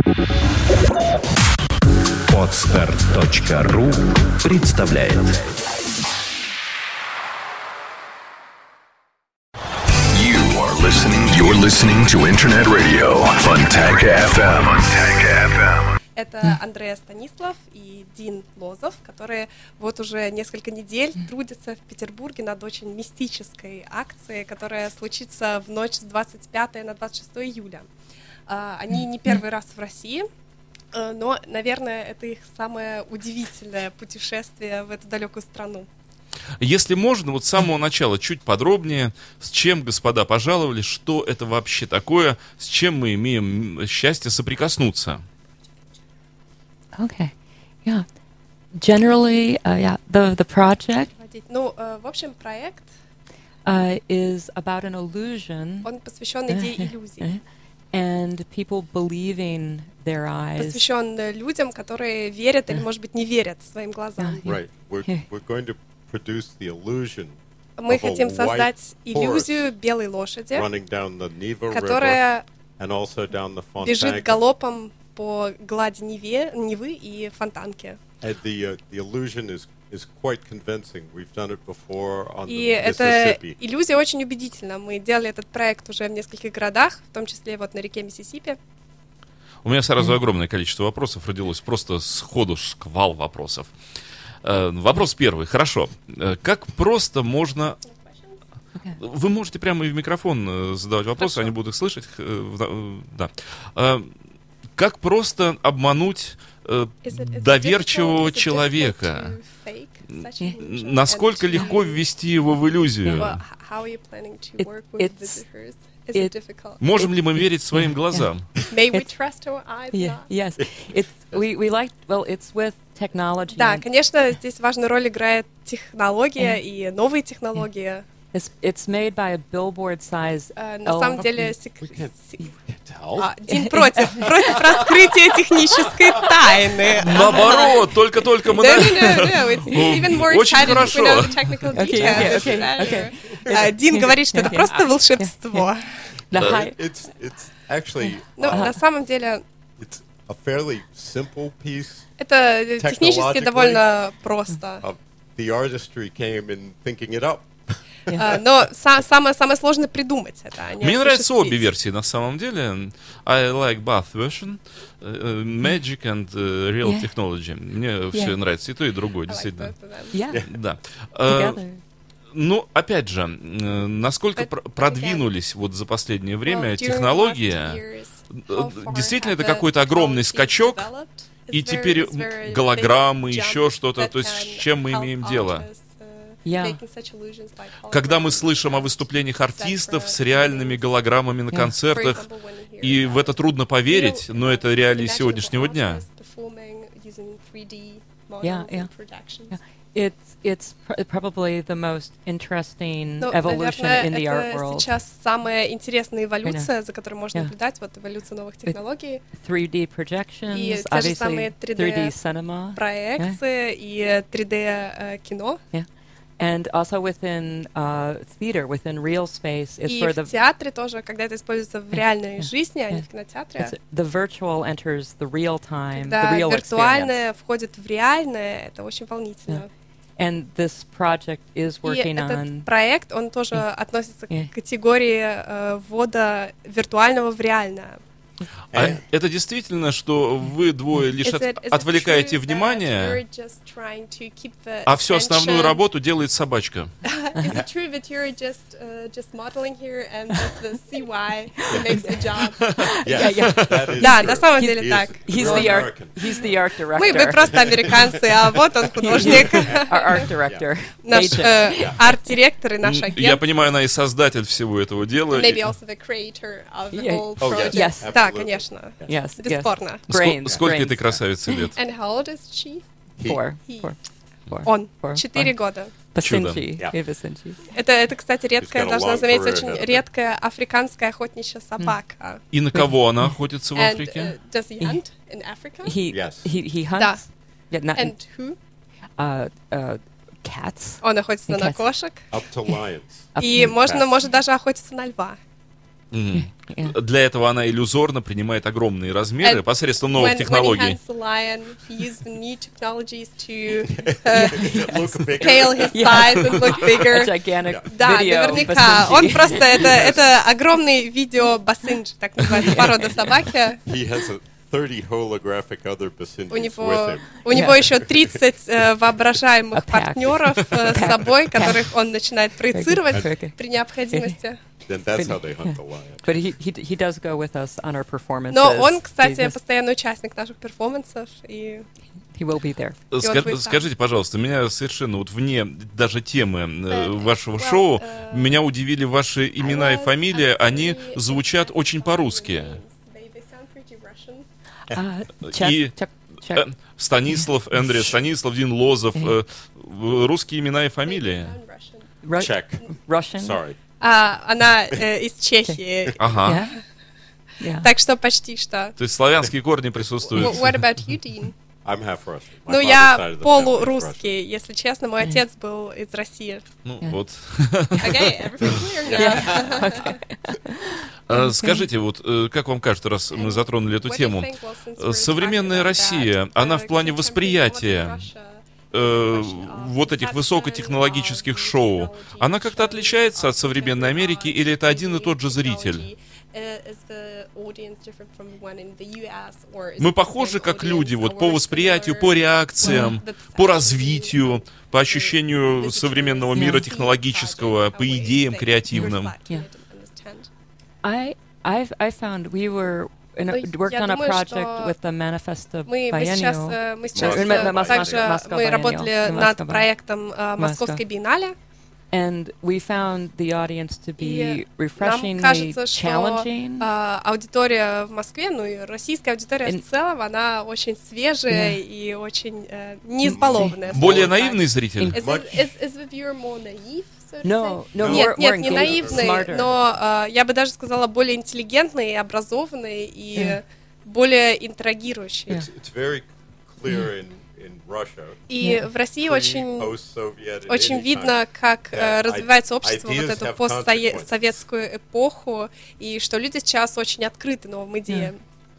Podster.ru представляет. You're listening to Internet Radio Fontanka FM. Это Андреа Станислав и Дин Лозов, которые вот уже несколько недель трудятся в Петербурге над очень мистической акцией, которая случится в ночь с 25 на 26 июля. Они не первый раз в России, но, наверное, это их самое удивительное путешествие в эту далекую страну. Если можно, вот с самого начала чуть подробнее, с чем господа пожаловали, что это вообще такое, с чем мы имеем счастье соприкоснуться. Okay, yeah. Generally, the project в общем, проект is about an illusion. Он посвящен идее иллюзий. And people believing their eyes. Посвящен людям, которые верят или, может быть, не верят своим глазам. Right. We're going to produce the illusion. Мы хотим создать иллюзию белой лошади, которая бежит галопом по глади Невы и Фонтанки. И эта иллюзия очень убедительна. Мы делали этот проект уже в нескольких городах, в том числе вот на реке Миссисипи. У меня сразу огромное количество вопросов родилось, просто сходу шквал вопросов. Вопрос первый. Хорошо. Как просто можно... Вы можете прямо и в микрофон задавать вопросы, Хорошо. Они будут их слышать. Да. Как просто обмануть доверчивого человека? Насколько легко ввести его в иллюзию? Можем ли мы верить своим глазам? May we trust our eyes? Yes. It's with technology. Да, конечно, здесь важную роль играет технология и новые технологии. It's made by a billboard-size. На самом деле, Дин против раскрытия технической тайны. Наоборот, только мы... Очень хорошо. Дин говорит, что это просто волшебство. На самом деле, это технически довольно просто. Но самое сложное придумать это. Мне нравятся обе версии на самом деле. I like both version, magic and real technology. Мне все нравится и то, и другое, действительно. Да. Ну, опять же, насколько продвинулись вот за последнее время технологии, действительно это какой-то огромный скачок, и теперь голограммы, еще что-то, то есть с чем мы имеем дело? Когда мы слышим о выступлениях артистов с реальными голограммами на концертах, и в это трудно поверить, но это реалии сегодняшнего дня. It's probably the most interesting evolution in the art world. Это сейчас самая интересная эволюция, за которой можно наблюдать, вот эволюция новых технологий. 3D projections, и те же самые 3D cinema, проекции и 3D кино. And also within theater, within real space, is for the. И в театре тоже, когда это используется в реальной жизни, а не в кинотеатре. The virtual enters the real time, когда the real виртуальное входит в реальное, это очень волнительно. And this project is working и этот on. Проект, он тоже относится к категории ввода виртуального в реальное. А это действительно, что вы двое лишь отвлекаете внимание, а всю основную работу делает собачка? Да, на самом деле так. He's the art director. Мы просто американцы, а вот он художник. Art director. Наш арт-директор и наш агент. Я понимаю, она и создатель всего этого дела. Maybe also the creator of the whole project. Yes. Да, конечно. Бесспорно. Сколько этой красавице лет? And how old is she? Four. Он. 4 года. Это, кстати, редкая, должна заметить, очень редкая африканская охотничья собака. И на кого она охотится в Африке? Does he hunt in Africa? He hunts. And who? Cats. Он охотится на кошек. Up to lions. И может даже охотиться на льва. Для этого она иллюзорно принимает огромные размеры посредством новых технологий. Да, наверняка. Он просто, это огромный видео-бассинж, так называется, порода собаки. У него еще 30 воображаемых партнеров с собой, которых он начинает проецировать при необходимости. Но он, кстати, постоянный участник наших перформансов, и Скажите, пожалуйста, меня совершенно вот вне даже темы вашего шоу, меня удивили ваши имена и фамилии, они звучат очень по-русски. И Станислав, Эндрю, Станислав, Дин Лозов, русские имена и фамилии. Czech. Sorry. Она из Чехии. Ага. Так что почти что. То есть славянские корни присутствуют. What about you, Dean? I'm half Russian. Ну, я полурусский, если честно. Мой отец был из России. Ну, вот. Okay, everything clear now. Скажите, вот как вам кажется, раз мы затронули эту тему, современная Россия, она в плане восприятия вот этих высокотехнологических шоу, она как-то отличается от современной Америки, или это один и тот же зритель? Мы похожи как люди вот по восприятию, по реакциям, по развитию, по ощущению современного мира технологического, по идеям креативным. I found we worked on a project with the Manifesto Biennial. Мы сейчас также работали над проектом Московской биеннале. And we found the audience to be refreshingly нам кажется, challenging. Что аудитория в Москве, ну и российская аудитория в целом, она очень свежая и очень не избалованная. Более наивный зритель? Is the viewer more naive? No, Нет, не наивный, но я бы даже сказала более интеллигентный, образованный и более интригирующий. It's very clear in Russia. И в России очень видно, как развивается общество, вот эту постсоветскую эпоху, и что люди сейчас очень открыты новым идеям.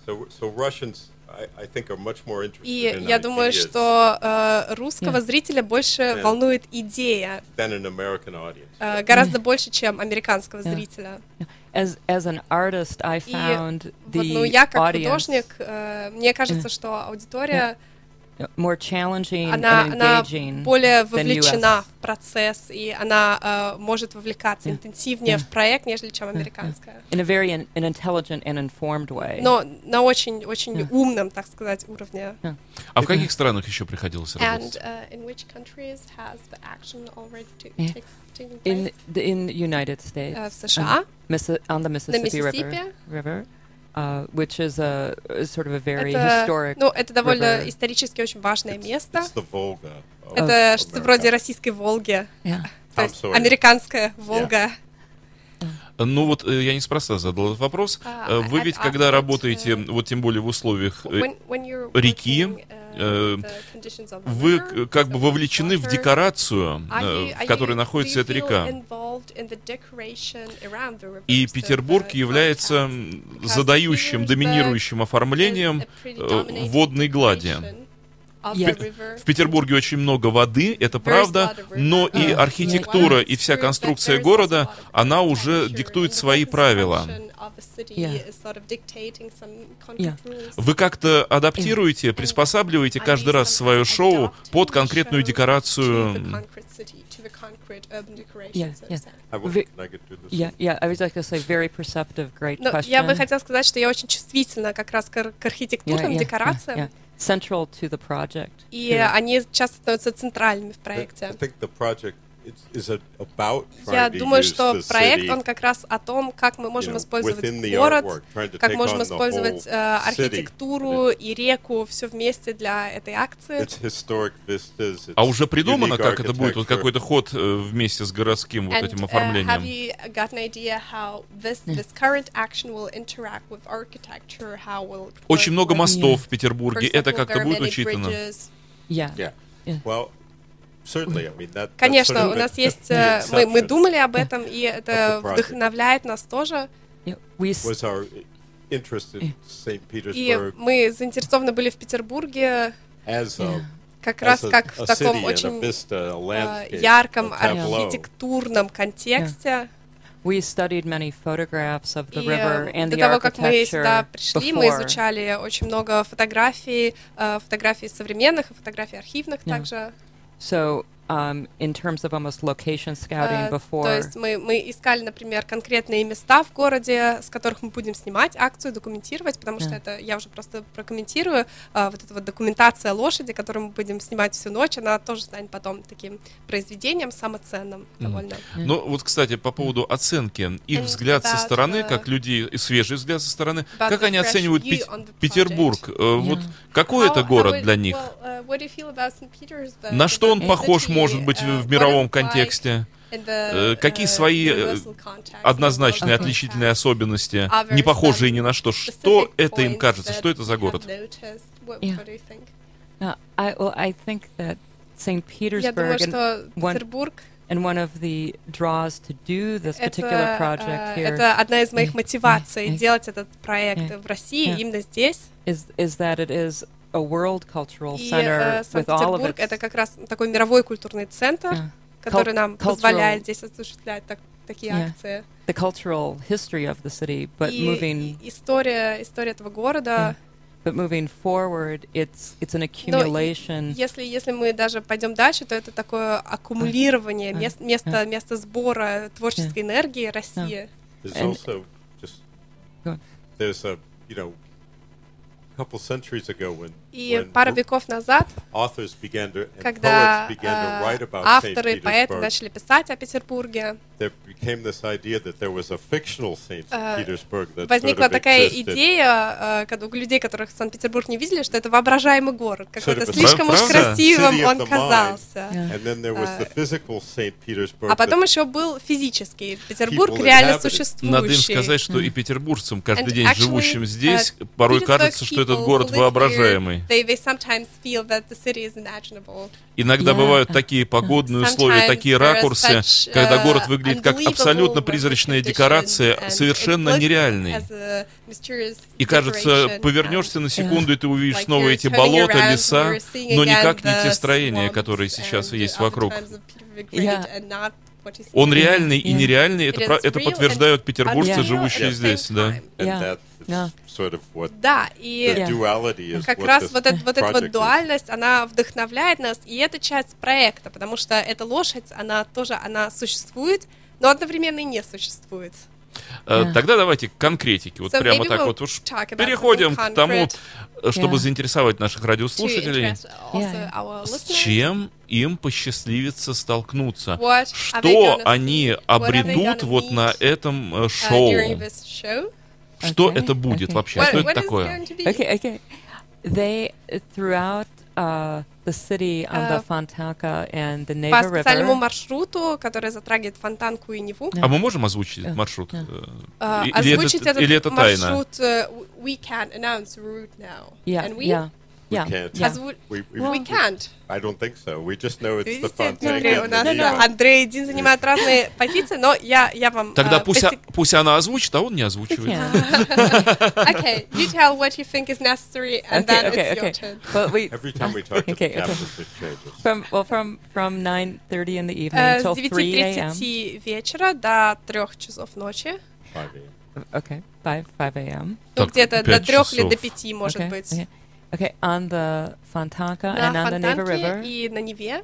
И я думаю, что русского зрителя больше волнует идея, гораздо больше, чем американского зрителя. As an artist, I found the я как художник, мне кажется, что аудитория more challenging она and engaging более вовлечена в процесс, и она может вовлекаться интенсивнее в проект, нежели чем американская. In a very intelligent and informed way. Но на очень умном, так сказать, уровне. А в каких странах еще приходилось работать? And in which countries has the action already taken place? In the United States. В США. On the Mississippi River. Which is a sort of a very historic. Ну, это довольно исторически очень важное место. Это что-то вроде российской Волги. То есть американская Волга. Ну вот я неспроста задал этот вопрос. Вы ведь, когда работаете, вот тем более в условиях реки, вы как бы вовлечены в декорацию, в которой находится эта река. И Петербург является задающим, доминирующим оформлением водной глади. В Петербурге очень много воды, это правда, но и архитектура, и вся конструкция города, она уже диктует свои правила. Вы как-то адаптируете, приспосабливаете каждый раз свое шоу под конкретную декорацию? Я бы хотела сказать, что я очень чувствительна как раз к архитектурным декорациям. Central to the project. И они часто становятся центральными в проекте. Я думаю, что проект, он как раз о том, как мы можем использовать город, как можем использовать архитектуру и реку, все вместе для этой акции. А уже придумано, как это будет, вот какой-то ход вместе с городским вот этим оформлением? Очень много мостов в Петербурге, это как-то будет учитано? Конечно, у нас есть... Мы думали об этом, и это вдохновляет нас тоже. was our interest in St. Petersburg. И мы заинтересованы были в Петербурге как раз как в таком очень ярком архитектурном контексте. We studied many photographs of the river and the до того, как мы сюда architecture пришли, мы изучали очень много фотографий, фотографий современных и фотографий архивных также. So, in terms of almost location scouting before. То есть мы искали, например, конкретные места в городе, с которых мы будем снимать акцию, документировать, потому что это, я уже просто прокомментирую, вот эта вот документация лошади, которую мы будем снимать всю ночь, она тоже станет потом таким произведением самоценным довольно. Ну, вот, кстати, по поводу оценки, их взгляд со стороны, как людей, свежий взгляд со стороны, как они оценивают Петербург? Вот какой это город для них? На что он похож, может быть, в мировом контексте? Какие свои однозначные отличительные особенности, не похожие ни на что? Что это им кажется? Что это за город? I think that St. Petersburg and one of the draws to do this particular project here. Это одна из моих мотиваций делать этот проект в России именно здесь. Is that it is a world cultural center with all of its. Это как раз такой мировой культурный центр, который нам позволяет здесь осуществлять такие акции. The cultural history of the city, but moving. История этого города. But moving forward, it's an accumulation. Если мы даже пойдем дальше, то это такое аккумулирование место сбора творческой энергии России. Couple centuries ago и пару веков назад, когда авторы и поэты начали писать о Петербурге, возникла такая идея у людей, которых Санкт-Петербург не видели, что это воображаемый город, какой-то слишком уж красивым он казался. А потом еще был физический Петербург, реально существующий. Надо им сказать, что и петербуржцам, каждый день живущим здесь, порой кажется, что этот город воображаемый. Иногда бывают такие погодные условия, такие ракурсы, когда город выглядит как абсолютно призрачная декорация, совершенно нереальный. И кажется, повернешься на секунду, и ты увидишь снова эти болота, леса, но никак не те строения, которые сейчас есть вокруг. Он реальный и нереальный, это подтверждают петербуржцы, живущие здесь, да. Да, и как раз вот эта вот дуальность, она вдохновляет нас, и это часть проекта, потому что эта лошадь, она существует, но одновременно и не существует. Тогда давайте к конкретике. Вот прямо так вот уж переходим к тому, чтобы заинтересовать наших радиослушателей. С чем им посчастливится столкнуться? Что они обретут вот на этом шоу? Что это будет вообще? Что это такое? They throughout the city on the Fontanka and the Neva River. По специальному маршруту, который затрагивает Фонтанку и Неву. А мы можем озвучить этот маршрут? Озвучить этот маршрут? We can announce the route now. And we We can't. I don't think so. We just know it's the Fontanka. У нас Андрей и Дин занимают разные позиции, но я вам... Тогда пусть она озвучит, а он не озвучивает. Okay, you tell what you think is necessary, and then it's your turn. Every time we talk to the captains, it changes. From 9:30 in the evening till 3 a.m. С 9:30 вечера до 3 часов ночи. 5 a.m. Okay, 5 a.m. Ну, где-то до 3 или до 5, может быть. Okay, on the Fontanka and on the Neva River. И на Неве.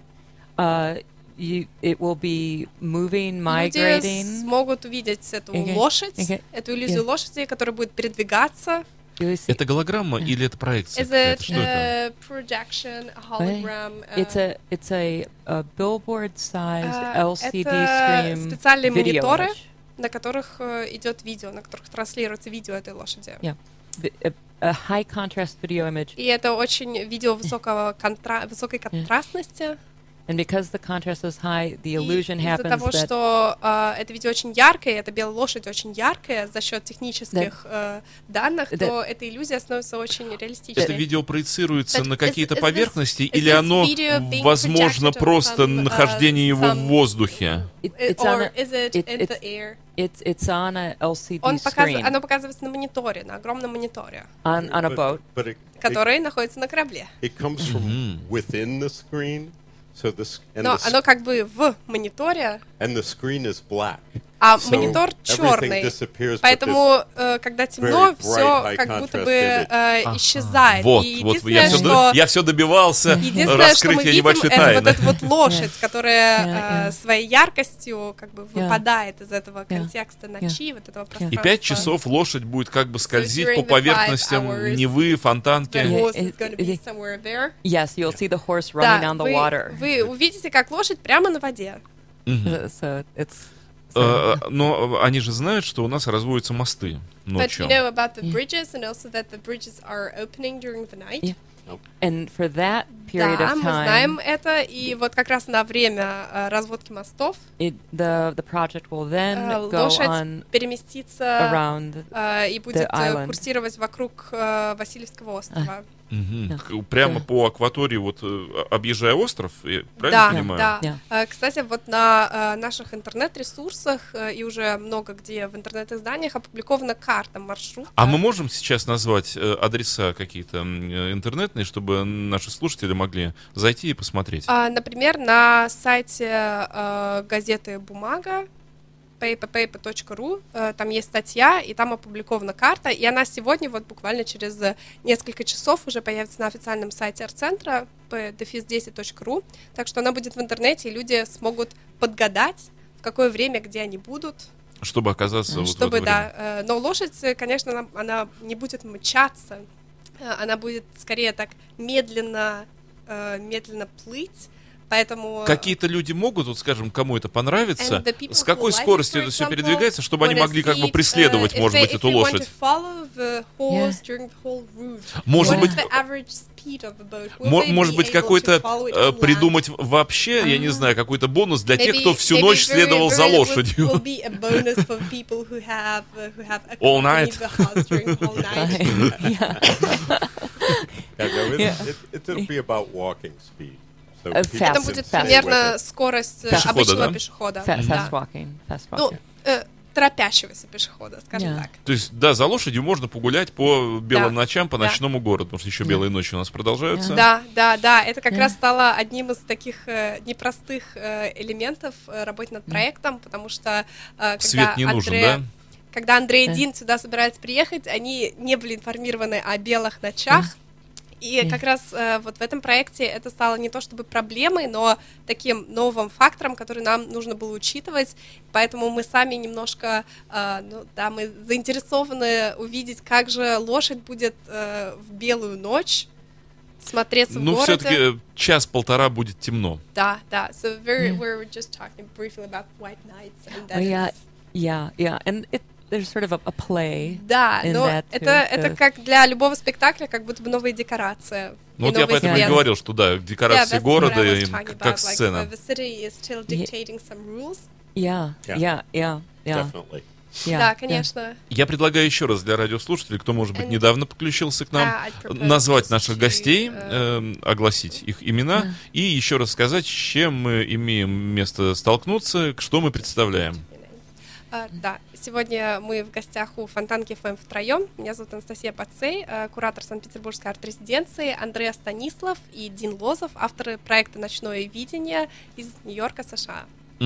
It will be moving, migrating. Люди смогут увидеть эту лошадь, эту иллюзию лошади, которая будет передвигаться. Это голограмма или это проекция? Что это? Projection, hologram. It's a billboard-sized LCD screen. Это специальные мониторы, на которых идет видео, на которых транслируется видео этой лошади. A high contrast video image. И это очень видео высокой контрастности. And because the contrast is high, the illusion happens из-за того, что это видео очень яркое, эта белая лошадь очень яркая за счет технических данных, то эта иллюзия становится очень реалистичной. Это видео проецируется на какие-то поверхности, или оно, возможно, просто нахождение его в воздухе? It's on a LCD screen. Оно показывается на мониторе, на огромном мониторе. On a boat. Который находится на корабле. It comes from within the screen. Но оно как бы в мониторе, and the screen is black. А монитор черный, поэтому, когда темно, все как будто бы исчезает. Вот, я все добивался раскрытия небольшой тайны. Это вот эта вот лошадь, которая своей яркостью как бы выпадает из этого контекста ночи, вот этого пространства. И 5 часов лошадь будет как бы скользить по поверхностям Невы, Фонтанки. Yes, you'll see the horse running on the water. Вы увидите, как лошадь прямо на воде. So it's но они же знают, что у нас разводятся мосты ночью. But you know about the bridges and also that the bridges are opening during the night. And for that period of time, мы знаем это, и вот как раз на время разводки мостов the project will then go on переместится around и будет курсировать вокруг Васильевского острова. Прямо по акватории, вот объезжая остров, я правильно понимаю? Да. Кстати, вот на наших интернет-ресурсах и уже много где в интернет-изданиях опубликована карта маршрута. А мы можем сейчас назвать адреса какие-то интернетные, чтобы наши слушатели могли зайти и посмотреть? Например, на сайте газеты «Бумага», paper.ru, там есть статья, и там опубликована карта, и она сегодня, вот буквально через несколько часов уже появится на официальном сайте арт-центра p-10.ru, так что она будет в интернете, и люди смогут подгадать, в какое время, где они будут. Чтобы оказаться вот в это время. Но лошадь, конечно, она не будет мчаться, она будет скорее так медленно плыть. Поэтому какие-то люди могут, вот скажем, кому это понравится, с какой скоростью это все передвигается, чтобы они могли как бы преследовать, может быть, эту лошадь. Может быть, какой-то придумать вообще, я не знаю, какой-то бонус для тех, кто всю ночь следовал за лошадью. All night. It'll be about walking speed. Это будет примерно скорость обычного пешехода. Fast walking. Ну, торопящегося пешехода, скажем так. То есть, да, за лошадью можно погулять по белым ночам, по ночному городу, потому что еще белые ночи у нас продолжаются. Да, это как раз стало одним из таких непростых элементов работы над проектом, потому что свет не нужен, да? Когда Андрей и Дин сюда собирались приехать, они не были информированы о белых ночах. И как раз вот в этом проекте это стало не то чтобы проблемой, но таким новым фактором, который нам нужно было учитывать. Поэтому мы сами немножко, мы заинтересованы увидеть, как же лошадь будет в белую ночь смотреться в городе. Ну, все-таки час-полтора будет темно. Да. So we're just talking briefly about white nights. And and there's sort of a play. Да, но это как для любого спектакля, как будто бы новая декорация. Ну, вот я поэтому и говорил, что да, декорации города, как сцена. The city is still dictating some rules. Yeah. Definitely. Да, конечно. Я предлагаю еще раз для радиослушателей, кто, может быть, недавно подключился к нам, назвать наших гостей, огласить их имена и еще раз сказать, с чем мы имеем место столкнуться, что мы представляем. Да, сегодня мы в гостях у Фонтанки ФМ втроем. Меня зовут Анастасия Пацей, куратор Санкт-Петербургской арт-резиденции, Андрей Станислав и Дин Лозов, авторы проекта «Ночное видение» из Нью-Йорка, США.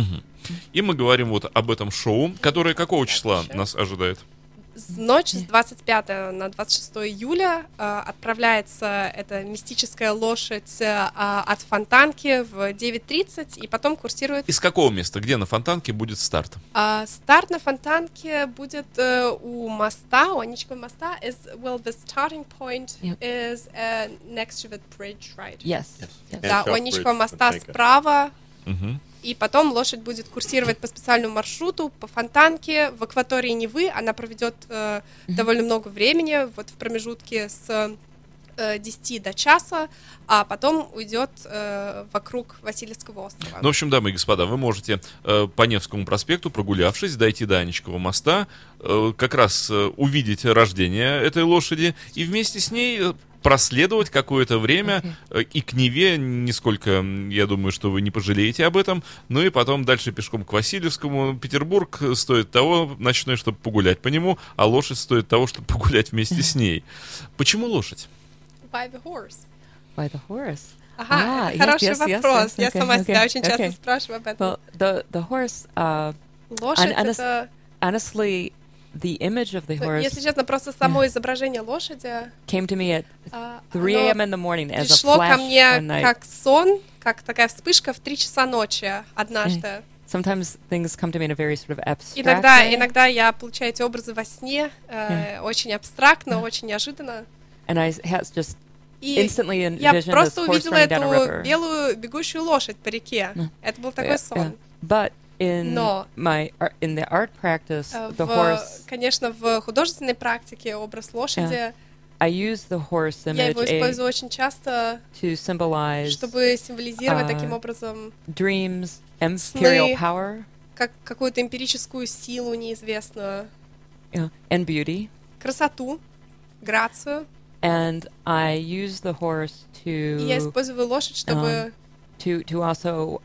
И мы говорим вот об этом шоу, которое какого числа нас ожидает? Ночь с 25 на 26 июля отправляется эта мистическая лошадь от Фонтанки в 9:30 и потом курсирует... Из какого места? Где на Фонтанке будет старт? Старт на Фонтанке будет у моста, у Аничкова моста. The starting point is next to the bridge, right? Yes. Да, у Аничкова моста справа. И потом лошадь будет курсировать по специальному маршруту по Фонтанке в акватории Невы. Она проведет довольно много времени вот в промежутке с 10 до часа, а потом уйдет вокруг Васильевского острова. Ну, в общем, дамы и господа, вы можете по Невскому проспекту, прогулявшись, дойти до Анечкова моста, как раз увидеть рождение этой лошади и вместе с ней проследовать какое-то время и к Неве, нисколько, я думаю, что вы не пожалеете об этом, ну и потом дальше пешком к Васильевскому. Петербург стоит того, ночной, чтобы погулять по нему, а лошадь стоит того, чтобы погулять вместе с ней. Почему лошадь? By the horse. By the horse. Ага, хороший вопрос. Я сама себя очень часто спрашиваю об этом. Well, the horse, лошадь это... Honestly, the image of the horse, если честно, просто само изображение лошади came to me at 3 a.m. in the morning as a пришло ко flash мне one night. как сон, как такая вспышка в 3 часа ночи однажды. Sometimes things come to me in a very sort of abstract way. Иногда я получаю эти образы во сне, очень абстрактно, очень неожиданно. And I just instantly envisioned я this просто horse увидела running down a эту river. белую бегущую лошадь по реке. Это был такой сон. But in the art practice, the horse. Конечно, в художественной практике образ лошади. I use the horse image. Я его использую очень часто, to symbolize, чтобы символизировать таким образом dreams, imperial power, как какую-то эмпирическую силу неизвестную, and beauty, красоту, грацию. And I use the horse to. И я использую лошадь, чтобы to also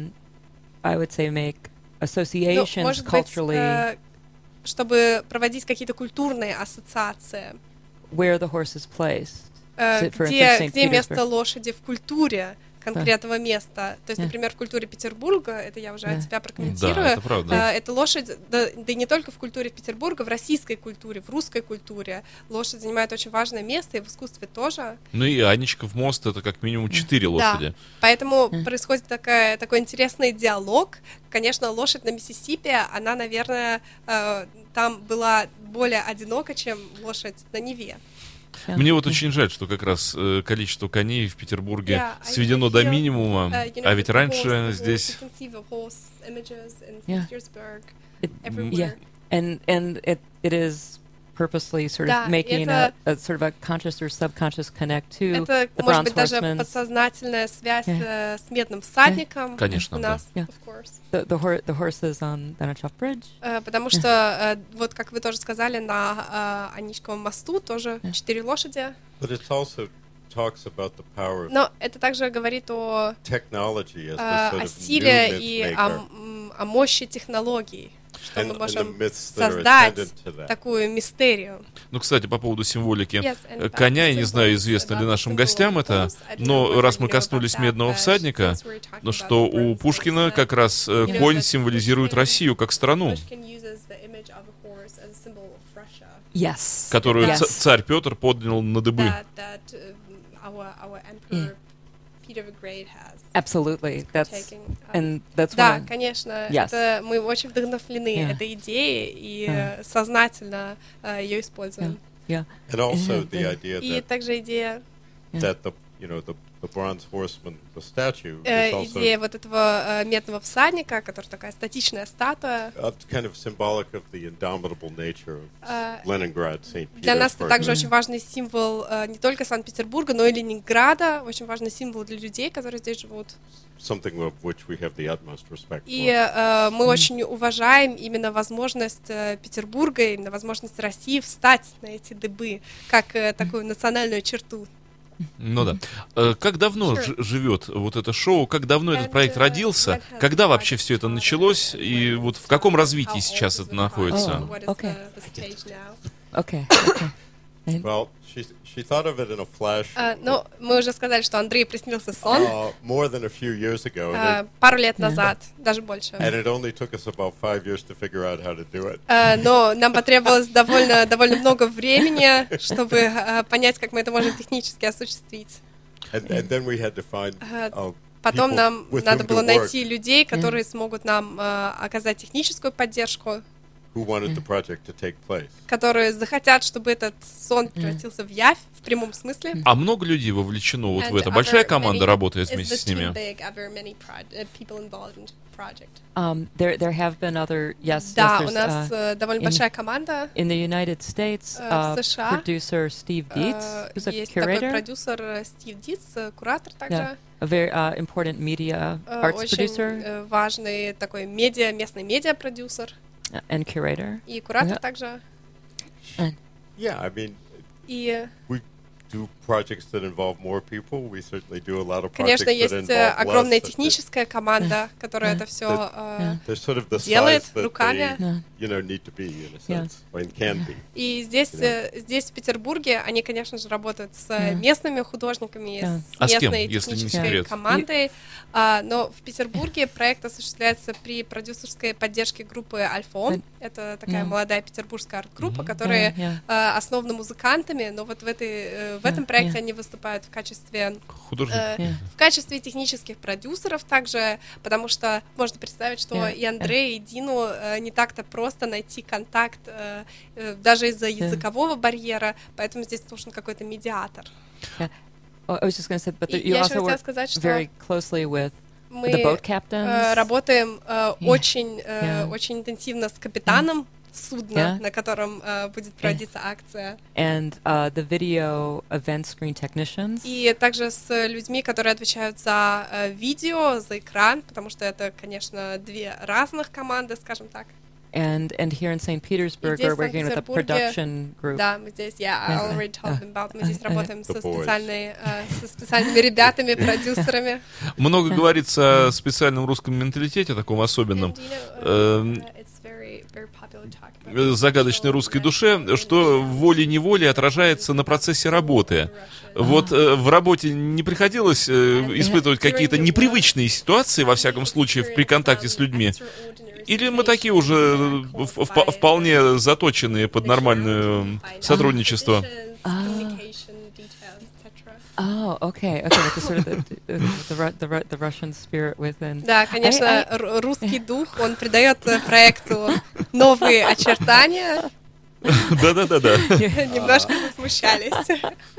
I would say make associations culturally. Чтобы проводить какие-то культурные ассоциации. Where the horse is placed. Где место лошади в культуре конкретного места. То есть, например, в культуре Петербурга, это я уже от тебя прокомментирую, да, это правда. Эта лошадь, да и не только в культуре Петербурга, в российской культуре, в русской культуре лошадь занимает очень важное место, и в искусстве тоже. Ну и Анечков мост — это как минимум 4 лошади. Да, поэтому происходит такой интересный диалог. Конечно, лошадь на Миссисипи, она, наверное, там была более одинока, чем лошадь на Неве. Мне вот очень жаль, что как раз количество коней в Петербурге сведено до минимума, а ведь раньше здесь... And it is purposely sort of making a sort of a conscious or subconscious connect to the Bronze Horsemen. Это, может быть, даже подсознательная связь с Медным всадником. Конечно, у нас, да. of course. The horses on the Anachov Bridge. Потому что, вот как вы тоже сказали, на Аничковом мосту тоже 4 лошади. But it also talks about the power of Но это также говорит о силе и о мощи технологий, что мы можем создать такую мистерию. Ну, кстати, по поводу символики коня, я не знаю, известно ли нашим гостям это, но раз мы коснулись Медного всадника, ну что у Пушкина как раз конь символизирует Россию как страну, которую царь Петр поднял на дыбы. Absolutely. Да, конечно. Это, мы очень вдохновлены этой идеей и сознательно ее используем. And also the idea и также идея, that the bronze horseman, the statue, is also идея вот этого медного всадника, который такая статичная статуя. Kind of symbolic of the indomitable nature of Leningrad, St. Petersburg. Для нас это также очень важный символ не только Санкт-Петербурга, но и Ленинграда, очень важный символ для людей, которые здесь живут. Something of which we have the utmost respect for. И мы очень уважаем именно возможность Петербурга, именно возможность России встать на эти дыбы, как такую национальную черту. Ну да. Как давно живет вот это шоу? Как давно этот проект родился? Когда вообще все это началось? И вот в каком развитии сейчас это находится? Well, she thought of it in a flash. Ну, мы уже сказали, что Андрею приснился сон. More than a few years ago. Пару лет назад, даже больше. And it only took us about 5 years to figure out how to do it. Но нам потребовалось довольно много времени, чтобы понять, как мы это можем технически осуществить. And then we had to find Потом нам надо было найти людей, которые смогут нам оказать техническую поддержку. who wanted the project to take place. Которые захотят, чтобы этот сон превратился в явь в прямом смысле. А много людей вовлечено вот в это? Большая команда работает вместе с ними? There have been other, yes. Да, у нас довольно большая команда. In the United States, producer Steve Dietz, who's a есть curator. Такой продюсер Стив Дитц, куратор также. Yeah. A very important media arts producer. Очень важный такой местный медиа-продюсер. And curator. И куратор также. Yeah, I mean, и we do projects that involve more people. We certainly do a lot of projects Конечно, есть that involve огромная less, техническая команда, которая это все sort of the делает size that руками. they, you know, need to be, in a sense, and can be. И здесь в Петербурге они, конечно же, работают с местными художниками, с местной технической командой. Но в Петербурге проект осуществляется при продюсерской поддержке группы Альфон. Это такая молодая петербургская арт-группа, которые основаны музыкантами, но вот в этом проекте они выступают в качестве технических продюсеров также, потому что можно представить, что и Андрею, и Дину не так-то просто найти контакт даже из-за языкового барьера, поэтому здесь нужен какой-то медиатор. I was just going to say, but you also work very closely with the boat captains. Мы работаем очень интенсивно с капитаном судна, на котором будет проводиться акция. And the video event screen technicians. И также с людьми, которые отвечают за видео, за экран, потому что это, конечно, две разных команды, скажем так. And here in St. Petersburg, we're working with a production group. Да, мы здесь, I already told them about. Мы здесь работаем со специальными ребятами, продюсерами. Много говорится о специальном русском менталитете, таком особенном, загадочной русской душе, что волей-неволей отражается на процессе работы. Вот в работе не приходилось испытывать какие-то непривычные ситуации, во всяком случае, при контакте с людьми? Или мы такие уже вполне заточенные под нормальное сотрудничество? Oh, okay. With the sort of the Russian spirit within. Да, конечно, русский дух, он придает проекту новые очертания. Да. Немножко засмущались.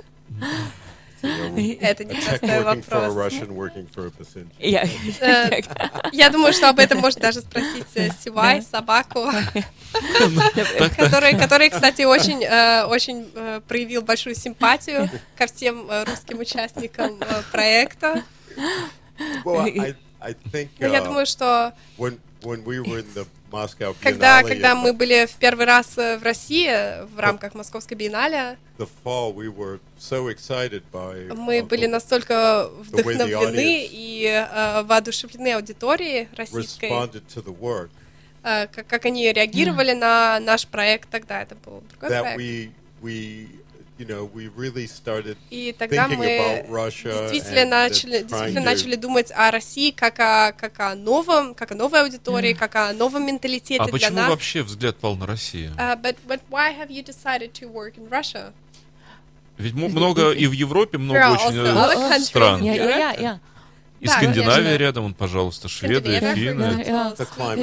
Это непростой вопрос. Я думаю, что об этом можно даже спросить Сивай, собаку, который, кстати, очень проявил большую симпатию ко всем русским участникам проекта. Я думаю, что когда мы были в первый раз в России в рамках Московской биеннале, мы были настолько вдохновлены и воодушевлены аудиторией российской, как они реагировали на наш проект тогда. Это был другой проект. И тогда мы действительно начали думать о России как о новой аудитории, как о новом менталитете для нас. А почему вообще взгляд пал на Россию? But why have you decided to work in Russia? Ведь много и в Европе много очень стран. И Скандинавия рядом, пожалуйста, Швеция, Финны.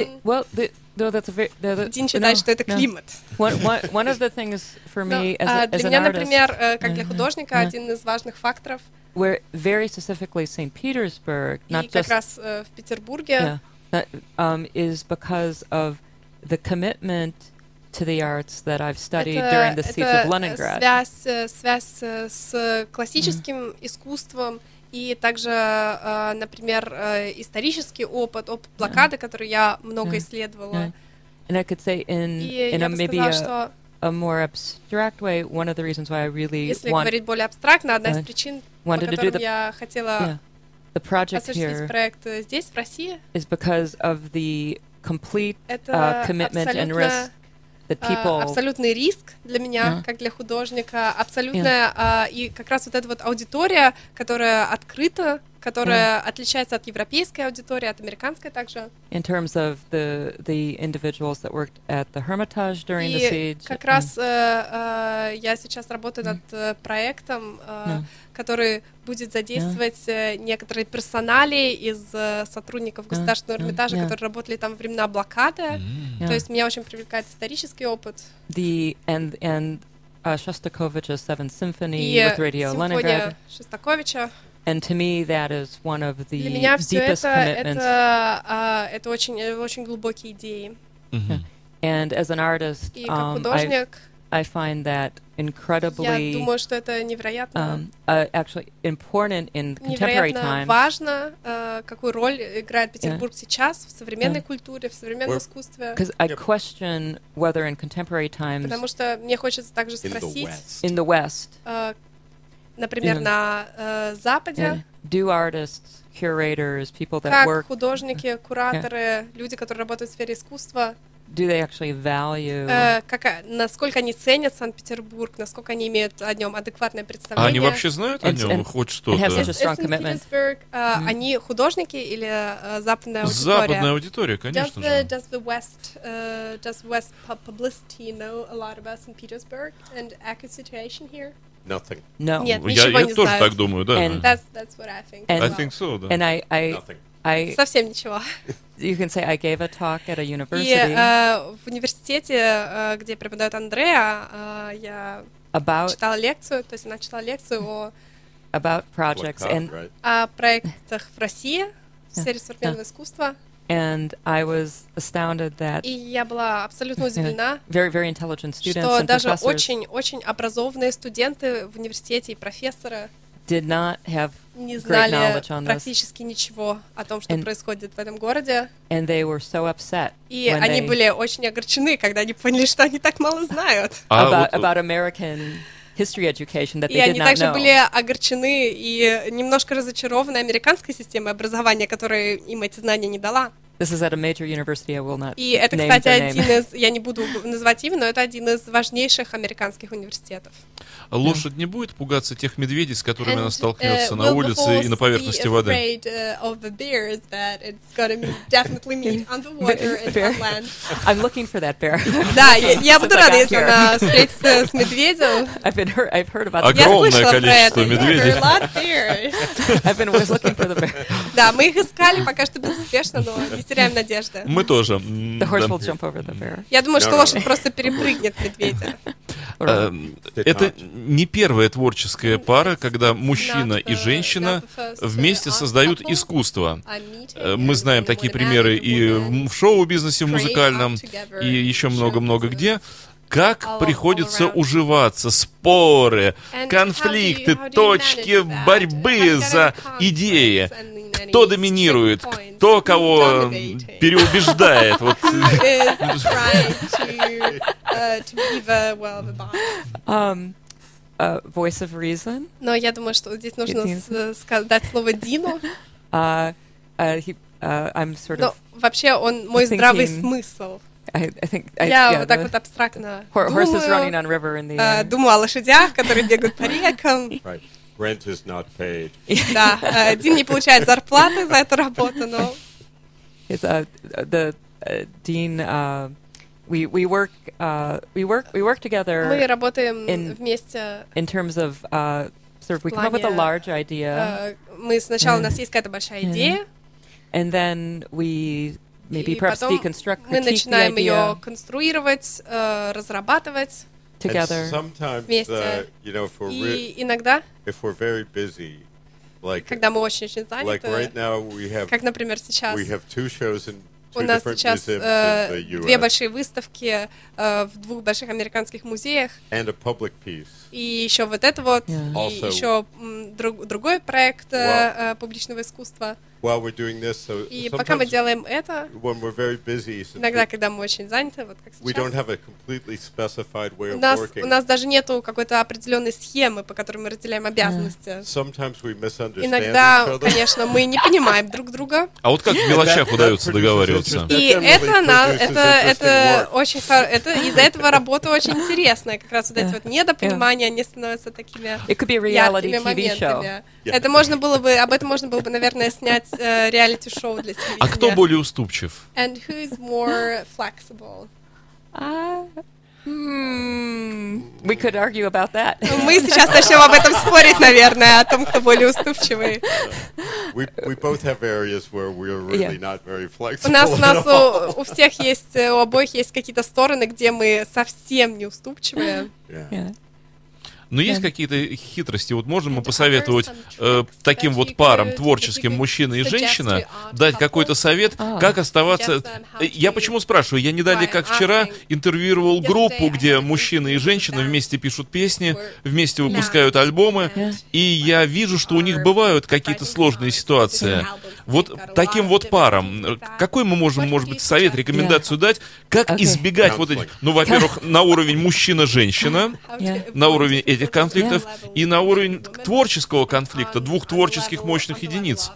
Дин считает, что это климат. One of the things for me as для меня, например, как для художника, один из важных факторов, where very specifically St. Petersburg, not just, как раз в Петербурге, is because of the commitment to the arts that I've studied during the siege of Leningrad. Связь с классическим искусством и также, например, исторический опыт блокады, который я много исследовала. And I could say in a maybe a more abstract way, one of the reasons why I really если говорить более абстрактно, одна из причин, по которым я хотела осуществить проект здесь, в России, is because of the complete commitment and risk. Абсолютный риск для меня, как для художника, абсолютная, и как раз вот эта вот аудитория, которая открыта которая отличается от европейской аудитории, от американской также. In terms of the individuals that worked at the Hermitage during the siege. И как раз я сейчас работаю над проектом, который будет задействовать некоторые персонали из сотрудников Государственного Эрмитажа, которые работали там во времена блокады. То есть меня очень привлекает исторический опыт. And Shostakovich's Seventh Symphony with Radio Leningrad. Шостаковича. And to me, that is one of the Для меня deepest commitments. Это очень глубокие идеи. And as an artist, И как художник, I find that incredibly, я думаю, что это невероятно, actually important in contemporary times. Важно, какую роль играет Петербург сейчас в современной культуре, в современном искусстве. Because I question whether in contemporary times, потому что мне хочется также спросить, in the West, например, на Западе, do artists, curators, people that как work, художники, кураторы, люди, которые работают в сфере искусства, do they actually value, насколько они ценят Санкт-Петербург, насколько они имеют о нем адекватное представление. А они вообще знают о нем хоть что-то? Санкт-Петербург, они художники или западная аудитория? Западная аудитория, конечно же. Does the West publicity know a lot about St. Petersburg and accurate situation here? Nothing. No. Нет, ничего я не тоже знают. так думаю, да. That's what I think. I think so, да. And I совсем ничего. You can say I gave a talk at a university. И в университете, где преподает Андреа, я читала лекцию, то есть она читала лекцию about projects о проектах в России в сфере современного искусства. And I was astounded that и я была абсолютно удивлена, very intelligent students что and даже professors очень образованные студенты в университете и профессоры did not have не great знали knowledge on this. практически ничего о том, что происходит в этом городе. And they were so upset и они были очень огорчены, когда они поняли, что они так мало знают. About American history education that they did not know. И они также были огорчены и немножко разочарованы американской системой образования, которая им эти знания не дала. This is at a major university. I will not и это, name кстати, their один name. из, я не буду называть имя, но это один из важнейших американских университетов. Лошадь не будет пугаться тех медведей, с которыми она столкнется на улице и на поверхности воды? I'm looking for that bear. Да, я буду рада, если она встретится с медведем. I've heard about that. Огромное количество медведей. I've been always looking for the bear. Да, мы их искали, пока что безуспешно, но не теряем надежды. Мы тоже. The horse will jump over the bear. Я думаю, что лошадь просто перепрыгнет медведя. Это не первая творческая пара, когда мужчина и женщина вместе создают искусство. Мы знаем такие примеры и в шоу-бизнесе, в музыкальном, и еще много-много где. Как приходится уживаться, споры, конфликты, точки борьбы за идеи. Кто доминирует, кто кого переубеждает. Вот. Voice of reason. Но я думаю, что здесь нужно дать слово Дину. I'm sort of. Но вообще он мой здравый смысл. Я вот так вот абстрактно думаю о лошадях, которые бегают по рекам. Rent is not paid. Да, Дин не получает зарплаты за эту работу, но. Dean, we work together. Мы работаем вместе. In terms of sort of we come up with a large idea. Мы сначала у нас есть какая-то большая идея. And then we maybe perhaps deconstruct, мы начинаем ее конструировать, разрабатывать. Together. Вместе. И иногда, когда мы очень заняты, как, например, сейчас, у нас сейчас две большие выставки в двух больших американских музеях, и еще вот это вот, и еще другой проект публичного искусства. И пока мы делаем это, иногда, когда мы очень заняты, вот как сейчас, у нас даже нету какой-то определенной схемы, по которой мы разделяем обязанности. Иногда, конечно, мы не понимаем друг друга. А вот как в мелочах удается договариваться? И это очень из-за этого работа очень интересная. Как раз вот эти вот недопонимания, они становятся такими яркими моментами. Это можно было бы, об этом можно было бы, наверное, снять реалити-шоу для телевидения. А кто более уступчив? And who is more flexible? We could argue about that. Мы сейчас начнем об этом спорить, наверное, о том, кто более уступчивый. We both have areas where we're really not very flexible. У нас у всех есть, у обоих есть какие-то стороны, где мы совсем не уступчивые. Но есть какие-то хитрости? Вот можем мы посоветовать таким вот парам, творческим, мужчина и женщина, дать какой-то совет, как оставаться... Я почему спрашиваю? Я не далее, как вчера, интервьюировал группу, где мужчина и женщина вместе пишут песни, вместе выпускают альбомы, и я вижу, что у них бывают какие-то сложные ситуации. Вот таким вот парам, какой мы можем, может быть, совет, рекомендацию дать, как избегать вот этих... Ну, во-первых, на уровень мужчина-женщина, на уровень этих конфликтов, и на уровень творческого конфликта, двух творческих мощных единиц.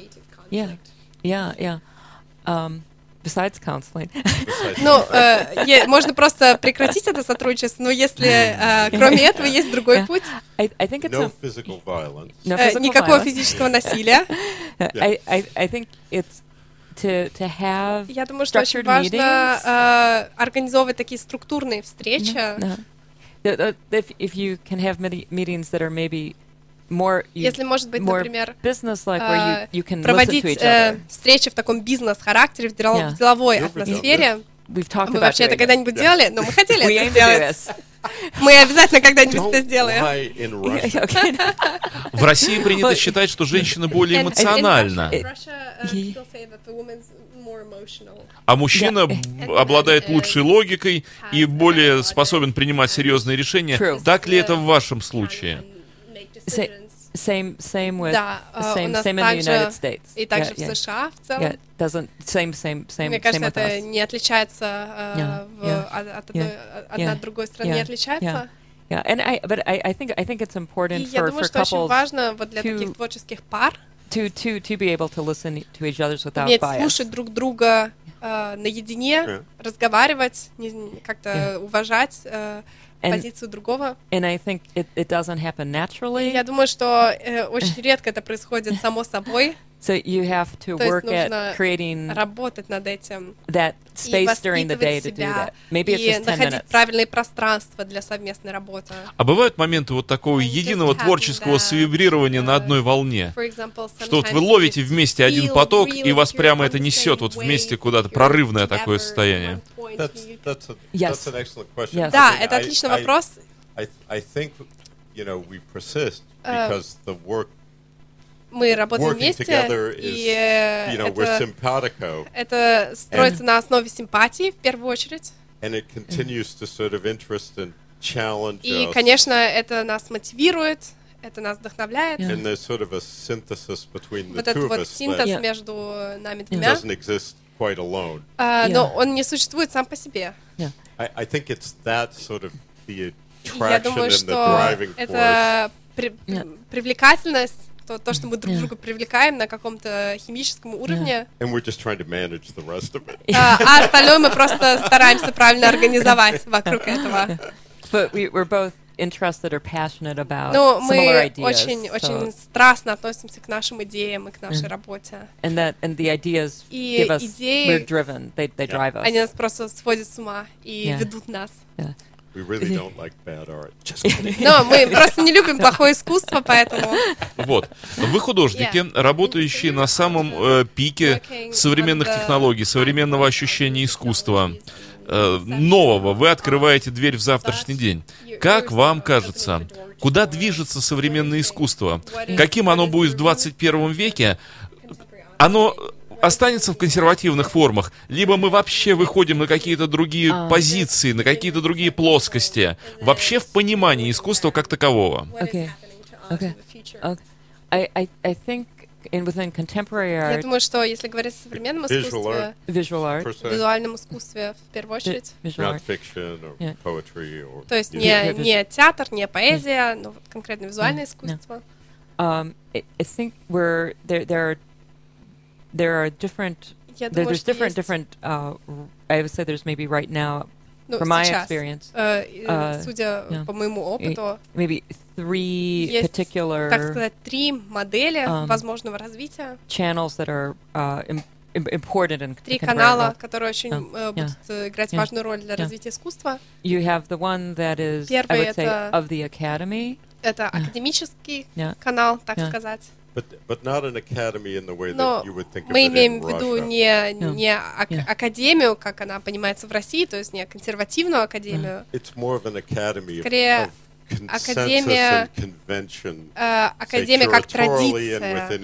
Besides counseling. Ну, можно просто прекратить это сотрудничество, но если кроме этого есть другой путь. No physical violence. Никакого физического насилия. I think it's to have Я думаю, что очень важно организовывать такие структурные встречи. If you can have meetings that are maybe more, если, может быть, например, business-like, where you can проводить listen to each other. Встречи в таком бизнес-характере, в деловой атмосфере. Мы вообще это когда-нибудь делали, но мы хотели это сделать. Мы обязательно когда-нибудь это сделаем. В России принято считать, что женщина более эмоциональна, а мужчина обладает лучшей логикой и более способен принимать серьезные решения. Так ли это в вашем случае? Same with same in the United States. И также в США в целом. Мне кажется, это не отличается одна от другой страны, не отличается. But I think it's important И я думаю, что очень важно вот для таких творческих пар to be able to listen to each other without уметь bias. Слушать друг друга наедине, разговаривать, как-то уважать позицию другого. And I think it doesn't happen naturally. Я думаю, что очень редко это происходит само собой. So you have to work at creating работать над этим, that space during the day to do that. Maybe it's just 10 minutes. И находить правильные пространства для совместной работы. А бывают моменты вот такого единого творческого свибрирования на одной волне, что вот вы ловите вместе один поток, и вас прямо это несет вот вместе куда-то, прорывное такое состояние. Да, это отличный вопрос. Мы работаем вместе, и это строится на основе симпатии, в первую очередь. И, конечно, это нас мотивирует, это нас вдохновляет. Вот этот вот синтез между нами двумя. Но он не существует сам по себе. Я думаю, что это привлекательность, то, что мы друг друга привлекаем на каком-то химическом уровне. А остальное мы просто стараемся правильно организовать вокруг этого. Interested or passionate about Но similar ideas. Мы очень страстно относимся к нашим идеям и к нашей работе. And the ideas give us, we're driven, they drive us. Они нас просто сводят с ума и ведут нас. We really don't like bad art. Но мы просто не любим плохое искусство, поэтому... Вот. Вы художники, работающие на самом пике современных технологий, современного ощущения искусства. Нового. Вы открываете дверь в завтрашний день. Как вам кажется, куда движется современное искусство? Каким оно будет в 21 веке? Оно останется в консервативных формах, либо мы вообще выходим на какие-то другие позиции, на какие-то другие плоскости, вообще в понимании искусства как такового? I think within contemporary art, я думаю, что если говорить о современном искусстве, визуальном искусстве в первую очередь, то есть не театр, не поэзия, но конкретно визуальное искусство. I think there are different. There's different. I would say there's maybe right now. From my experience, судя по моему опыту, maybe three particular, так сказать, 3 модели возможного развития. Channels that are important in 3 канала, которые очень будут играть важную роль для развития искусства. You have the one that is, I would say, of the academy. Это академический канал, так сказать. But not an academy in the way that you would think of it in Russia. Мы имеем в виду не академию, как она понимается в России, то есть не консервативную академию. It's more of an academy скорее of consensus and convention, академия как традиция,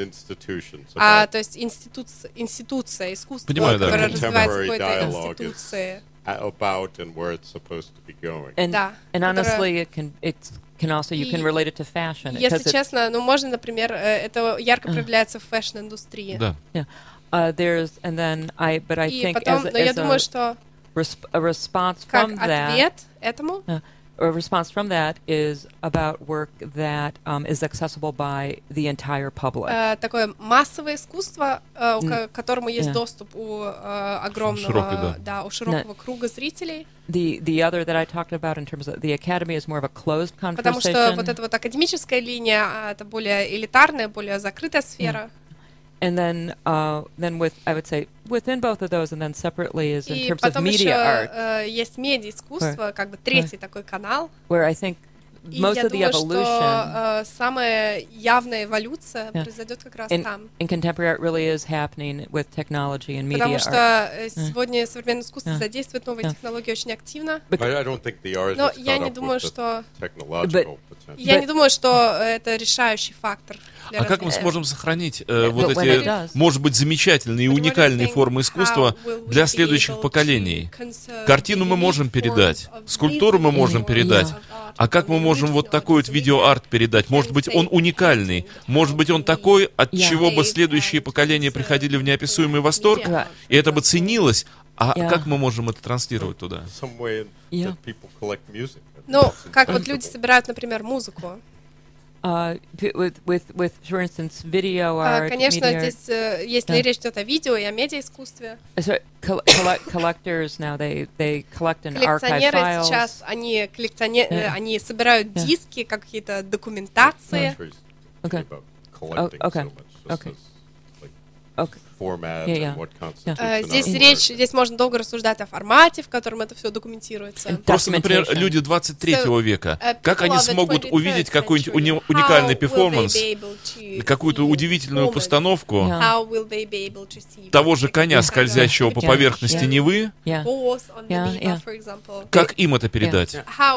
то есть институция искусства, которая развивается в какой-то институции. About and where it's supposed to be going. And honestly, can also you can relate it to fashion. Если честно, ну можно, например, это ярко проявляется в фэшн-индустрии. Да. There's and then I think потом, as я думаю, что a response from that, ответ этому, a response from that is about work that is accessible by the entire public. Такое массовое искусство, к которому есть доступ у огромного, у широкого круга зрителей. The other that I talked about in terms of the academy is more of a closed conversation. Потому что вот эта вот академическая линия, это более элитарная, более закрытая сфера. And then with, I would say, within both of those, and then separately is in terms of media art. И потом еще есть медиа-искусство, как бы третий такой канал. Where I think most of the evolution. И я думаю, что самая явная эволюция произойдет как раз там. In contemporary art really is happening with technology and media Потому art. что сегодня современное искусство задействует новые технологии очень активно. Но я не думаю, что это решающий фактор. А как мы сможем сохранить вот эти, может быть, замечательные и уникальные формы искусства для следующих поколений? Картину мы можем передать, скульптуру мы можем передать, а как мы можем вот такой вот видеоарт передать? Может быть, он уникальный, может быть, он такой, от чего бы следующие поколения приходили в неописуемый восторг, и это бы ценилось, а как мы можем это транслировать туда? Ну, как вот люди собирают, например, музыку. With, for instance, video art, конечно, здесь, если речь идет о видео и о медиаискусстве, collectors now they collect an archive files. Сейчас они собирают диски, какие-то документации. Здесь можно долго рассуждать о формате, в котором это все документируется. Просто, например, люди 23 века, как они смогут увидеть какой-нибудь уникальный перформанс, какую-то удивительную постановку того же коня, скользящего по поверхности Невы, как им это передать?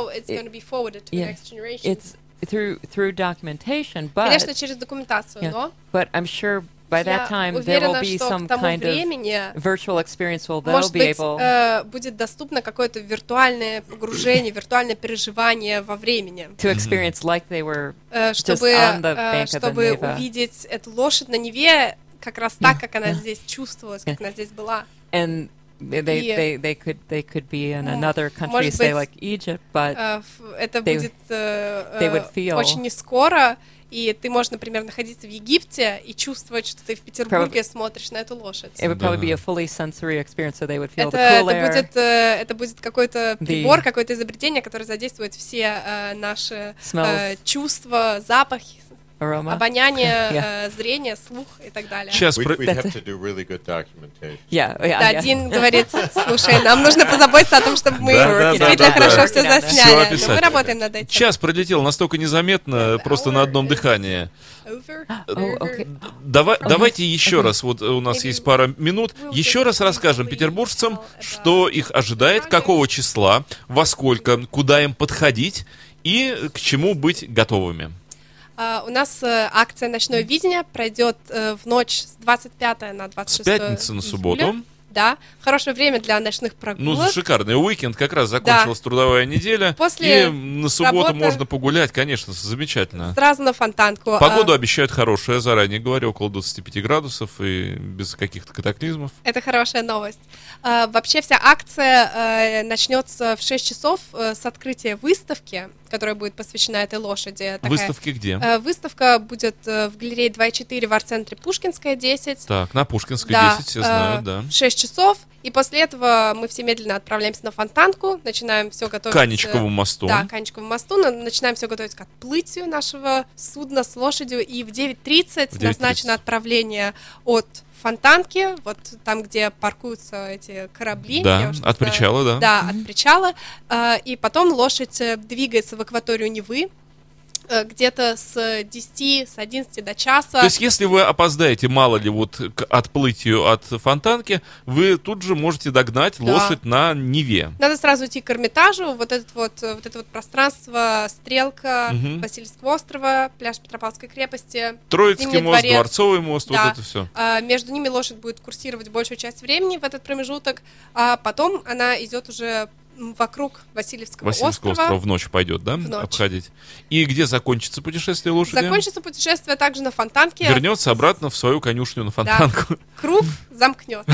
Through documentation, конечно, через документацию, но but I'm sure by that time there will be some kind of virtual experience where they'll be able будет доступно какое-то виртуальное погружение, виртуальное переживание во времени. To experience like they were just on the bank of the Neva. Чтобы увидеть эту лошадь на Неве как раз так, как она здесь чувствовалась, как она здесь была. And they could be in another country, say like Egypt, but это будет очень не скоро. И ты можешь, например, находиться в Египте и чувствовать, что ты в Петербурге смотришь на эту лошадь. It would probably be a fully sensory experience, so they would feel the cool air. Это будет какой-то прибор, какое-то изобретение, которое задействует все наши чувства, запахи, обоняние, зрение, слух и так далее. Сейчас Дин говорит, слушай, нам нужно позаботиться о том, чтобы мы действительно хорошо все засняли. Мы работаем над этим. Час пролетел настолько незаметно, просто на одном дыхании. Давайте еще раз, вот у нас есть пара минут, еще раз расскажем петербуржцам, что их ожидает, какого числа, во сколько, куда им подходить и к чему быть готовыми. У нас акция «Ночное видение» пройдет в ночь с 25 на 26 с пятницы на субботу. Да, хорошее время для ночных прогулок. Ну, шикарный уикенд, как раз закончилась трудовая неделя. После и на субботу можно погулять, конечно, замечательно. Сразу на Фонтанку. Погоду обещают хорошую, я заранее говорю, около 25 градусов и без каких-то катаклизмов. Это хорошая новость. Вообще вся акция начнется в 6 часов с открытия выставки, которая будет посвящена этой лошади. Выставки где? Выставка будет в галерее 2.4 в арт-центре Пушкинская, 10. Так, на Пушкинской 10, все знают, да. 6 часов, и после этого мы все медленно отправляемся на Фонтанку, начинаем все готовить... К Анечковому мосту. Да, к Анечковому мосту, начинаем все готовить к отплытию нашего судна с лошадью, и в 9:30 назначено отправление от Фонтанки, вот там, где паркуются эти корабли. Да, от причала, да. Да, от причала. И потом лошадь двигается в акваторию Невы, где-то с 10, с 11 до часа. То есть, если вы опоздаете, мало ли, вот к отплытию от Фонтанки, вы тут же можете догнать лошадь на Неве. Надо сразу идти к Эрмитажу, вот это вот пространство, Стрелка, Васильевского острова, пляж Петропавловской крепости, Троицкий мост, Дворцовый мост, вот это все. Между ними лошадь будет курсировать большую часть времени в этот промежуток, а потом она идет уже вокруг Васильевского острова. В ночь пойдет, да? В ночь. Обходить. И где закончится путешествие лошади? Закончится путешествие также на Фонтанке. Вернется обратно в свою конюшню на Фонтанку. Да. Круг замкнется.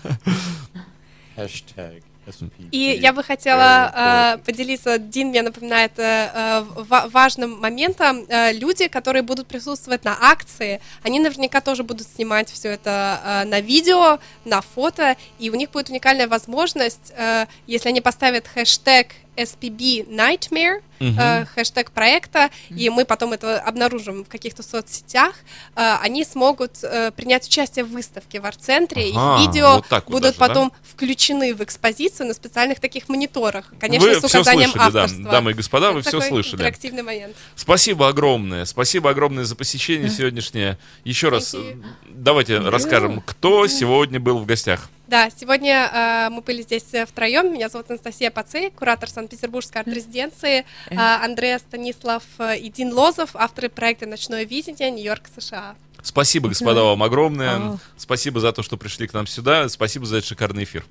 И я бы хотела поделиться, Дин мне напоминает важным моментом. Люди, которые будут присутствовать на акции, они наверняка тоже будут снимать все это на видео, на фото, и у них будет уникальная возможность, если они поставят хэштег SPB Nightmare, хэштег проекта, и мы потом это обнаружим в каких-то соцсетях, они смогут принять участие в выставке в арт-центре, их видео вот будут даже, потом включены в экспозицию на специальных таких мониторах, конечно, вы с указанием слышали, авторства. Да, дамы и господа, вы такой все слышали. Интерактивный момент. Спасибо огромное за посещение сегодняшнее. Еще раз давайте расскажем, кто сегодня был в гостях. Да, сегодня мы были здесь втроем. Меня зовут Анастасия Пацей, куратор Санкт-Петербургской арт-резиденции, Андреа Станислав и Дин Лозов, авторы проекта «Ночное видение», Нью-Йорк, США. Спасибо, господа, вам огромное. Спасибо за то, что пришли к нам сюда. Спасибо за этот шикарный эфир.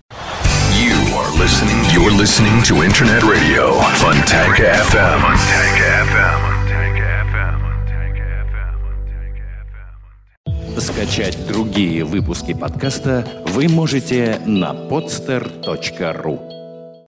You're listening to Internet Radio, Fontanka FM. Скачать другие выпуски подкаста вы можете на podster.ru.